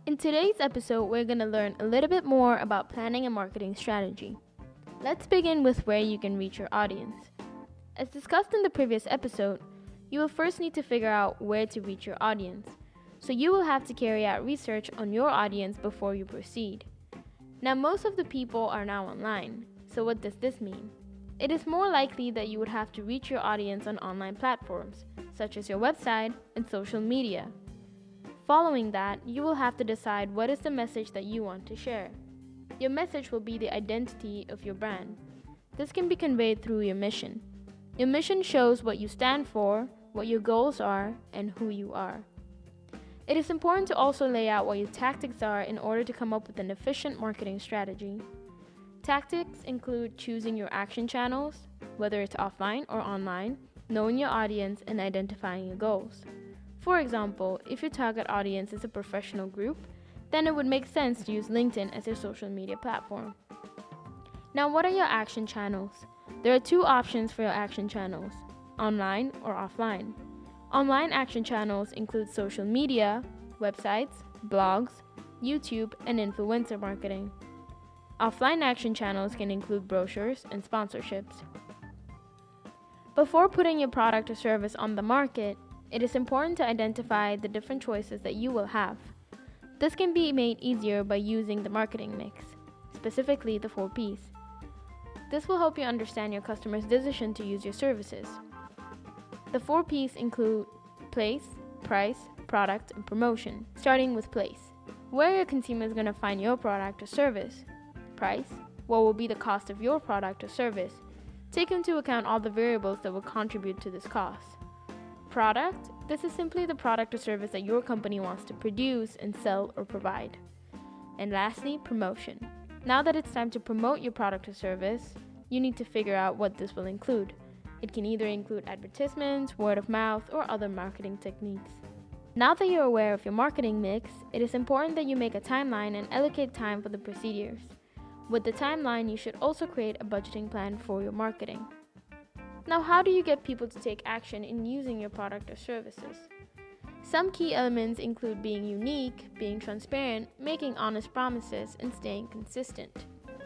In today's episode, we're going to learn a little bit more about planning a marketing strategy. Let's begin with where you can reach your audience. As discussed in the previous episode, you will first need to figure out where to reach your audience. So you will have to carry out research on your audience before you proceed. Now, most of the people are now online. So what does this mean? It is more likely that you would have to reach your audience on online platforms, such as your website and social media. Following that, you will have to decide what is the message that you want to share. Your message will be the identity of your brand. This can be conveyed through your mission. Your mission shows what you stand for, what your goals are, and who you are. It is important to also lay out what your tactics are in order to come up with an efficient marketing strategy. Tactics include choosing your action channels, whether it's offline or online, knowing your audience, and identifying your goals. For example, if your target audience is a professional group, then it would make sense to use LinkedIn as your social media platform. Now, what are your action channels? There are two options for your action channels, online or offline. Online action channels include social media, websites, blogs, YouTube, and influencer marketing. Offline action channels can include brochures and sponsorships. Before putting your product or service on the market, it is important to identify the different choices that you will have. This can be made easier by using the marketing mix, specifically the 4 Ps. This will help you understand your customer's decision to use your services. The 4 Ps include place, price, product, and promotion. Starting with place. Where are your consumers going to find your product or service? Price. What will be the cost of your product or service? Take into account all the variables that will contribute to this cost. Product. This is simply the product or service that your company wants to produce and sell or provide. And lastly, promotion. Now that it's time to promote your product or service, you need to figure out what this will include. It can either include advertisements, word of mouth, or other marketing techniques. Now that you're aware of your marketing mix, it is important that you make a timeline and allocate time for the procedures. With the timeline, you should also create a budgeting plan for your marketing. Now, how do you get people to take action in using your product or services? Some key elements include being unique, being transparent, making honest promises, and staying consistent.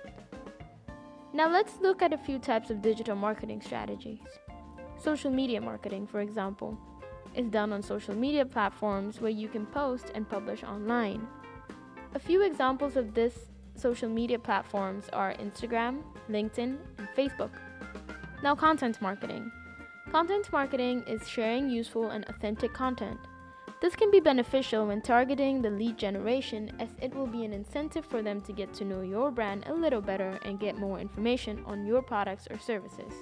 Now, let's look at a few types of digital marketing strategies. Social media marketing, for example, is done on social media platforms where you can post and publish online. A few examples of this social media platforms are Instagram, LinkedIn, and Facebook. Now, content marketing. Content marketing is sharing useful and authentic content. This can be beneficial when targeting the lead generation, as it will be an incentive for them to get to know your brand a little better and get more information on your products or services.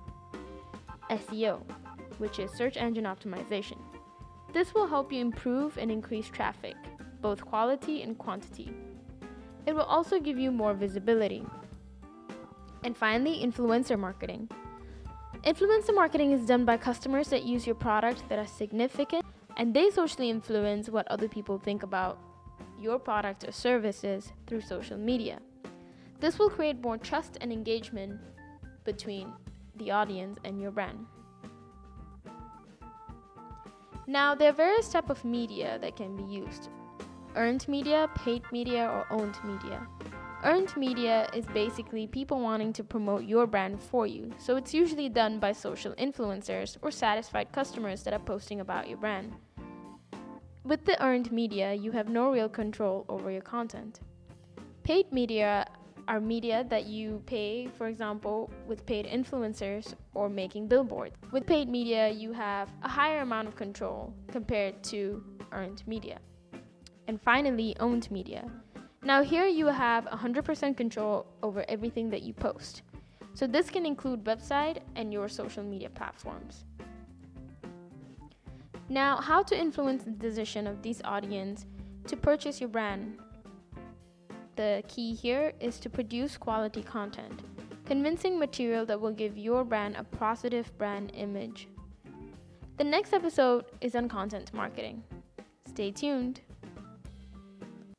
SEO, which is search engine optimization. This will help you improve and increase traffic, both quality and quantity. It will also give you more visibility. And finally, influencer marketing. Influencer marketing is done by customers that use your product that are significant, and they socially influence what other people think about your product or services through social media. This will create more trust and engagement between the audience and your brand. Now, there are various types of media that can be used. Earned media, paid media, or owned media. Earned media is basically people wanting to promote your brand for you, so it's usually done by social influencers or satisfied customers that are posting about your brand. With the earned media, you have no real control over your content. Paid media are media that you pay, for example, with paid influencers or making billboards. With paid media, you have a higher amount of control compared to earned media. And finally, owned media. Now here you have 100% control over everything that you post. So this can include website and your social media platforms. Now, how to influence the decision of this audience to purchase your brand? The key here is to produce quality content, convincing material that will give your brand a positive brand image. The next episode is on content marketing. Stay tuned.